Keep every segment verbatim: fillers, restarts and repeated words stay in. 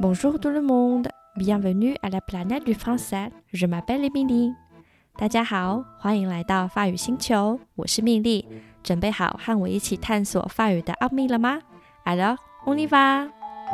Bonjour tout le monde, bienvenue à la planète du français. Je m'appelle Émilie. 大家好，欢迎来到法语星球，我是蜜莉。准备好和我一起探索法语的奥秘了吗？ Alors, on y va!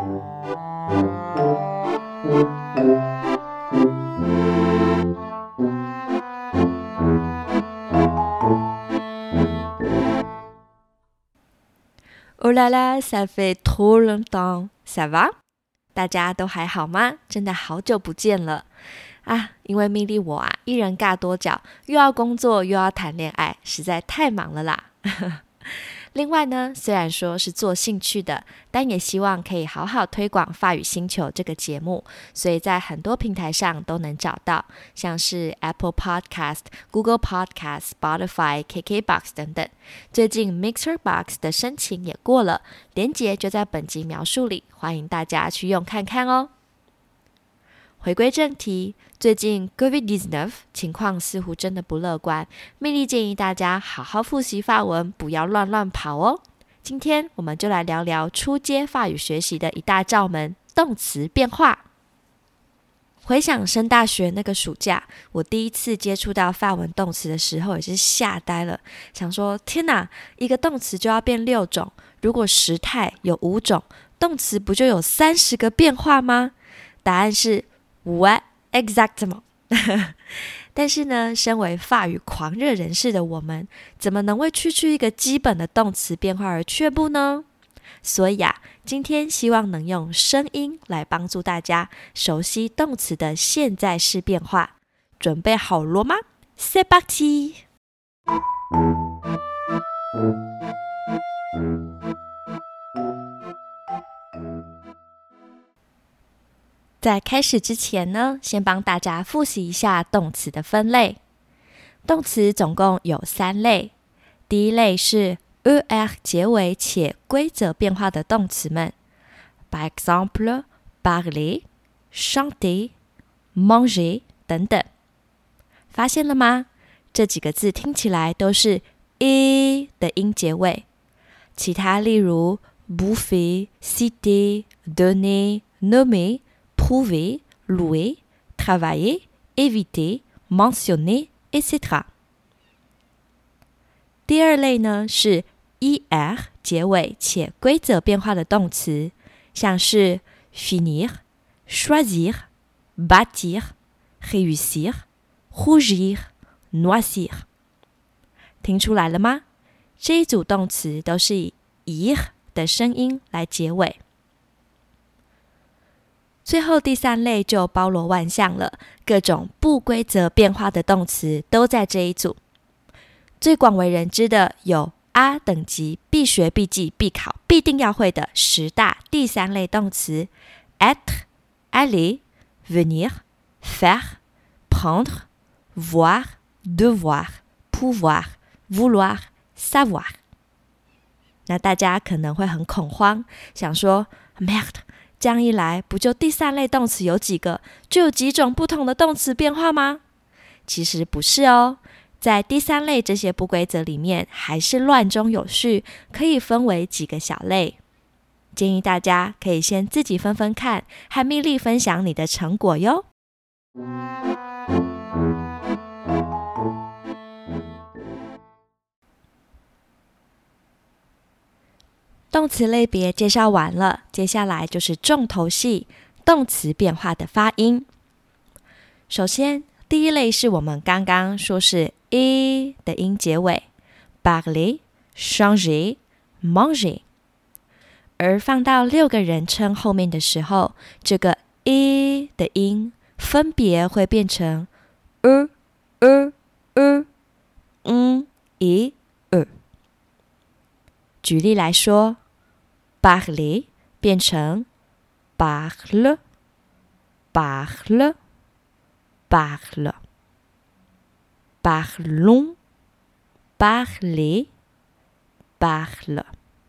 Oh là là, ça fait trop longtemps. Ça va? 大家都还好吗？真的好久不见了啊！因为蜜莉我啊，一人尬多角，又要工作又要谈恋爱，实在太忙了啦。另外呢，虽然说是做兴趣的，但也希望可以好好推广法语星球这个节目，所以在很多平台上都能找到，像是 Apple Podcast、Google Podcast、Spotify、K K Box 等等。最近 Mixer Box 的申请也过了，连结就在本集描述里，欢迎大家去用看看哦。回归正题，最近 COVID 十九 情况似乎真的不乐观，蜜莉建议大家好好复习法文，不要乱乱跑哦。今天我们就来聊聊初阶法语学习的一大罩门——动词变化。回想升大学那个暑假，我第一次接触到法文动词的时候，也是吓呆了，想说天哪，一个动词就要变六种，如果时态有五种，动词不就有三十个变化吗？答案是What exactement 但是呢，身为法语狂热人士的我们，怎么能为区区一个基本的动词变化而却步呢？所以啊，今天希望能用声音来帮助大家熟悉动词的现在式变化。准备好了吗？ C'est parti！在开始之前呢，先帮大家复习一下动词的分类。动词总共有三类，第一类是 er 结尾且规则变化的动词们 ，par exemple, parler, chanter, manger 等等。发现了吗？这几个字听起来都是 e 的音结尾。其他例如 bouffer, citer, donner, nommer。prouver, louer, travailler, éviter, mentionner, et cetera. 第二类呢是 er 结尾且规则变化的动词，像是 finir, choisir, bâtir, réussir, rougir, noisir. 听出来了吗？这一组动词都是以 ir 的声音来结尾。最后第三类就包罗万象了，各种不规则变化的动词都在这一组。最广为人知的有 A 等级必学必记必考必定要会的十大第三类动词 être, aller, venir, faire, prendre, voir, devoir, pouvoir, vouloir, savoir。 那大家可能会很恐慌，想说 merde，这样一来，不就第三类动词有几个，就有几种不同的动词变化吗？其实不是哦，在第三类这些不规则里面，还是乱中有序，可以分为几个小类。建议大家可以先自己分分看，和蜜莉分享你的成果哟。动词类别介绍完了，接下来就是重头戏，动词变化的发音。首先，第一类是我们刚刚说是 e 的音结尾 ，parler, changer, manger。而放到六个人称后面的时候，这个 e 的音分别会变成 e, e, e, n, et, e。举例来说，parler 变成 parle, parle, parle, parlons, parler, parle。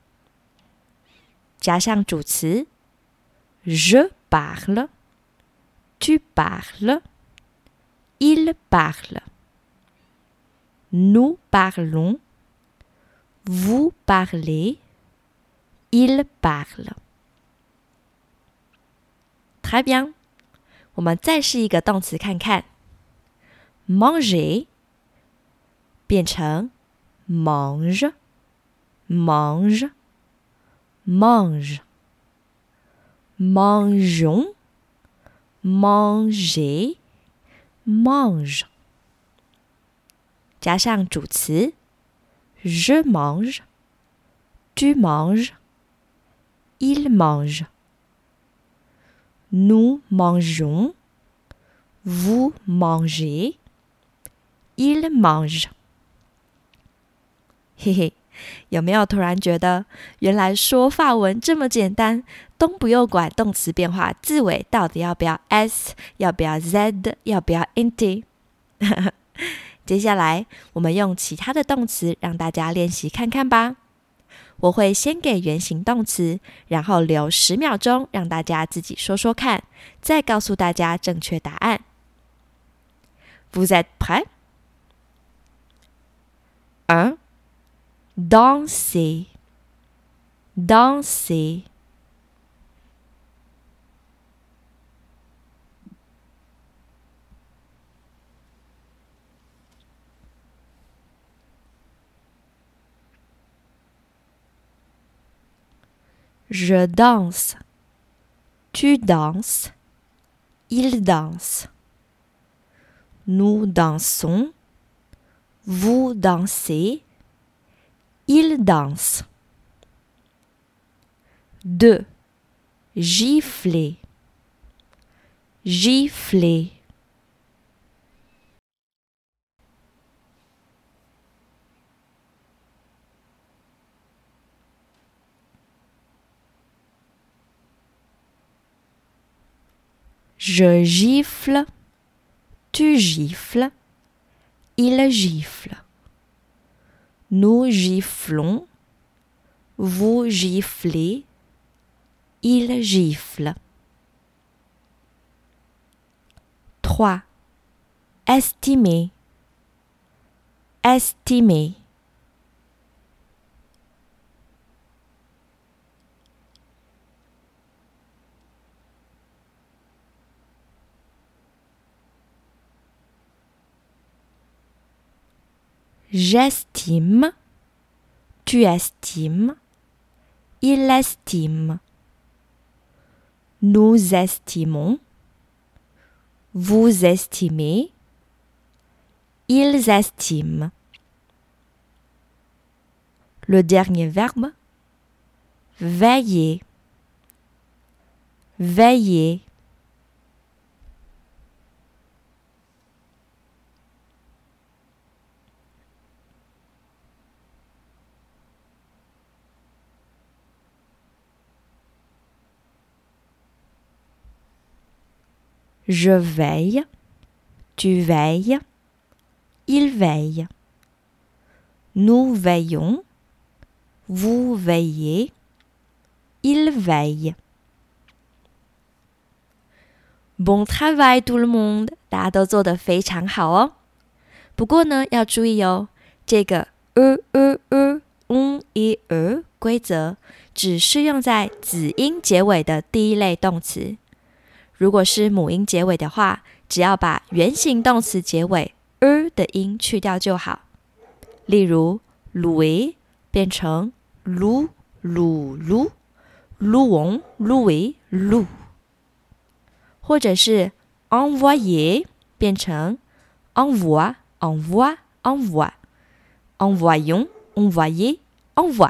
加上主词 je parle, tu parles, il parle, nous parlons, vous parlez, il parle。 très bien。我们再试一个动词看看 ，manger 变成 mange mange mange mangeons manger mange 加上主词 je mange tu manges il mange nous mangeons vous mangez il mange 嘿嘿，有没有突然觉得原来说法文这么简单，都不用管动词变化字尾到底要不要 s， 要不要 z， 要不要 int。 接下来我们用其他的动词让大家练习看看吧。我会先给原形动词，然后留十秒钟让大家自己说说看，再告诉大家正确答案。Vous êtes prêts? un. Danser, danser. Je danse, tu danses, il danse. Nous dansons, vous dansez, il danse. deux. Gifler, gifler. Je gifle, tu gifles, il gifle. Nous giflons, vous giflez, il gifle. trois. Estimer, estimer. J'estime, tu estimes, il estime. Nous estimons, vous estimez, ils estiment. Le dernier verbe, veiller, veiller. Je veille, tu veilles, il veille. Nous veillons, vous veillez, il veille. Bon travail tout le monde， 大家都做得非常好哦。不过呢，要注意哦，这个 e e e un e e 规则只适用在子音结尾的第一类动词。如果是母音结尾的话，只要把原形动词结尾 er 的音去掉就好。例如 louer 变成 lou lou lou louons louer lou， 或者是 envoyer 变成 envoie envoie envoie envoyons envoyer envoie。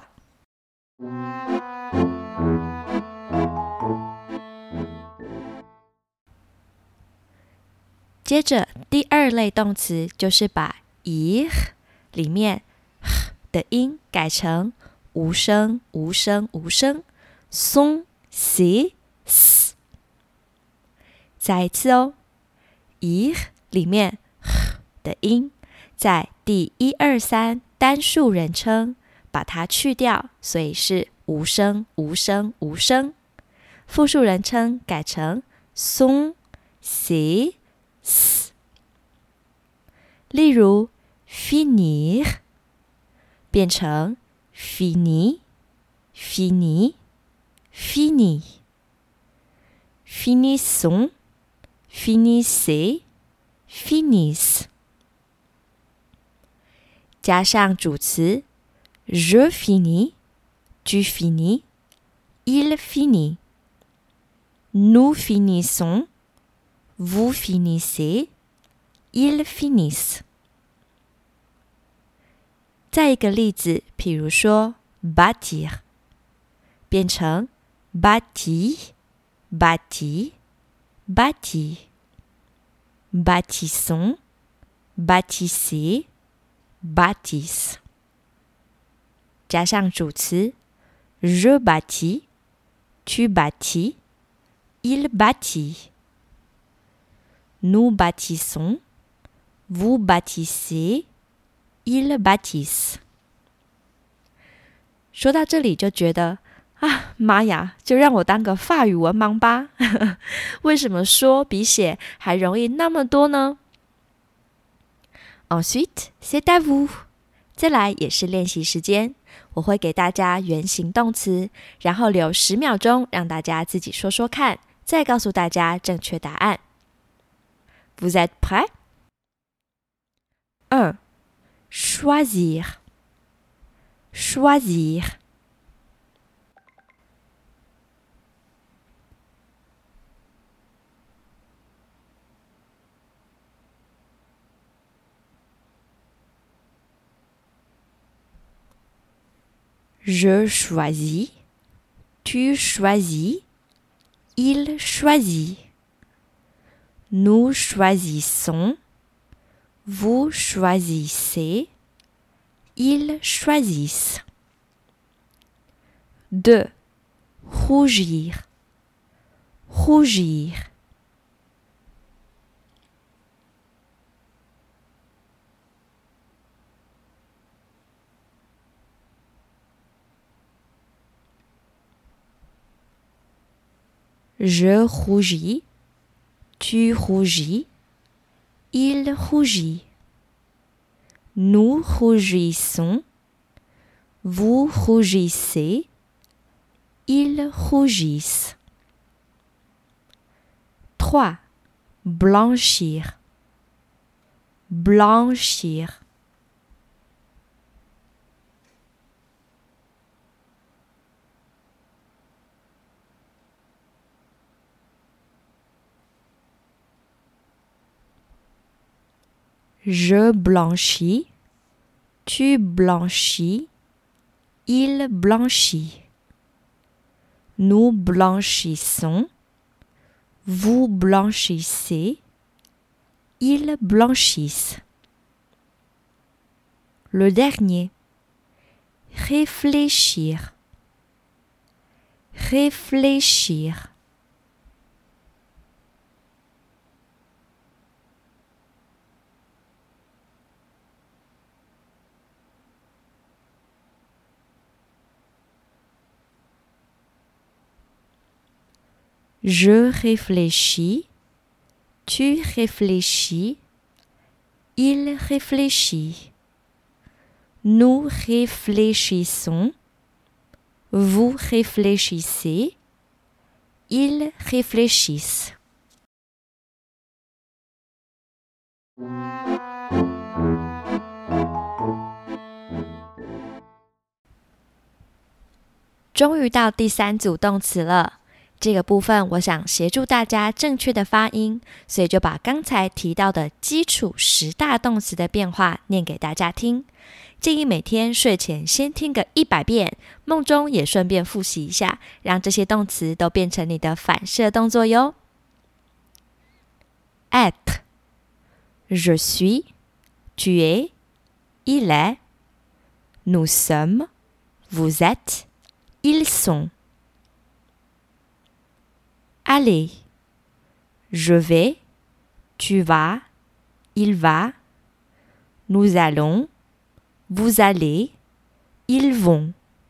接着第二类动词就是把 ir 里面 h 的音改成无声无声无声 son si s。 再一次哦， ir 里面 h 的音在第一二三单数人称把它去掉，所以是无声无声无声。复数人称改成 son si s。 例如 finir 变成 fini fini fini finissons, finissez, finissent。加上主词 je finis, tu finis, il finit. Nous finissons, vous finissez, ils finissent。再一个例子，譬如说 bâtir 变成 bâti, bâti, bâti. Bâtissons, bâtissez, bâtissent。加上主词 je bâtis, tu bâtis, il bâtit. Nous bâtissons, vous bâtissez, ils bâtissent。说到这里就觉得啊，妈呀，就让我当个法语文盲吧。为什么说比写还容易那么多呢？ Ensuite, c'est à vous。 再来也是练习时间，我会给大家原形动词，然后留十秒钟让大家自己说说看，再告诉大家正确答案。Vous êtes prêts? un. Choisir. Choisir. Je choisis, tu choisis, il choisit. Nous choisissons, vous choisissez, ils choisissent. deux. Rougir, rougir. Je rougis, tu rougis, il rougit. Nous rougissons, vous rougissez, ils rougissent. trois. Blanchir, blanchir. Je blanchis, tu blanchis, il blanchit. Nous blanchissons, vous blanchissez, ils blanchissent. Le dernier. Réfléchir, réfléchir. Je réfléchis, tu réfléchis, il réfléchit. Nous réfléchissons, vous réfléchissez, ils réfléchissent. 终于到第三组动词了。这个部分我想协助大家正确的发音，所以就把刚才提到的基础十大动词的变化念给大家听。建议每天睡前先听个一百遍，梦中也顺便复习一下，让这些动词都变成你的反射动作哟。Être, je suis, tu es, il est, nous sommes, vous êtes, ils sont. Aller, je vais, tu vas, il va, nous allons, vous allez, ils vont.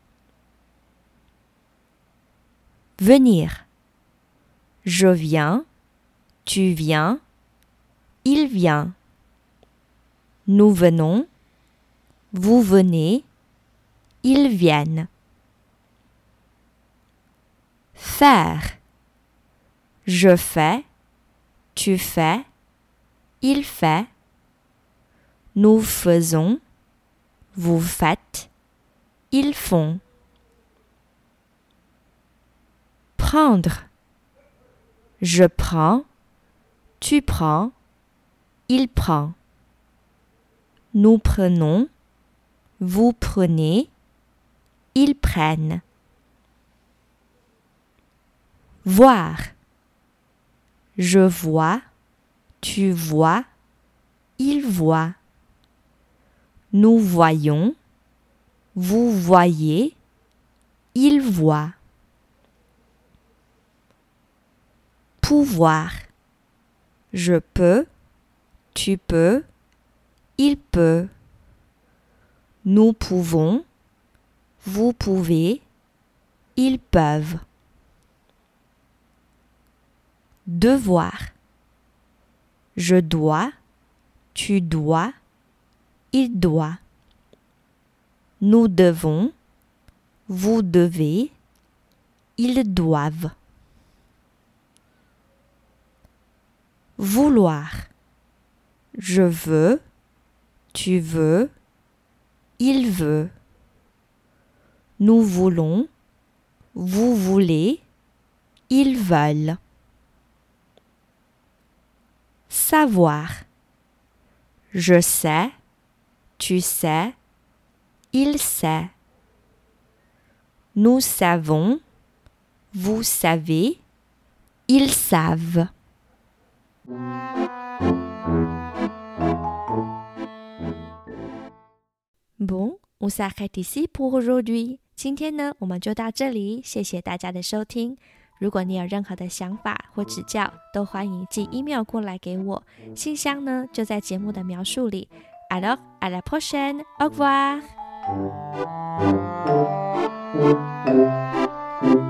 Venir, je viens, tu viens, il vient. Nous venons, vous venez, ils viennent. Faire, Je fais, tu fais, il fait. Nous faisons, vous faites, ils font. Prendre. Je prends, tu prends, il prend. Nous prenons, vous prenez, ils prennent. Voir. Je vois, tu vois, il voit. Nous voyons, vous voyez, il voit. Pouvoir. Je peux, tu peux, il peut. Nous pouvons, vous pouvez, ils peuvent. Devoir. Je dois, tu dois, il doit. Nous devons, vous devez, ils doivent. Vouloir. Je veux, tu veux, il veut. Nous voulons, vous voulez, ils veulent. Savoir. Je sais, tu sais, il sait. Nous savons, vous savez, ils savent. Bon, on s'arrête ici pour aujourd'hui. 今天呢，我们就到这里，谢谢大家的收听。如果你有任何的想法或指教，都欢迎寄 email 过来给我。信箱呢，就在节目的描述里。Alors, à la prochaine. Au revoir.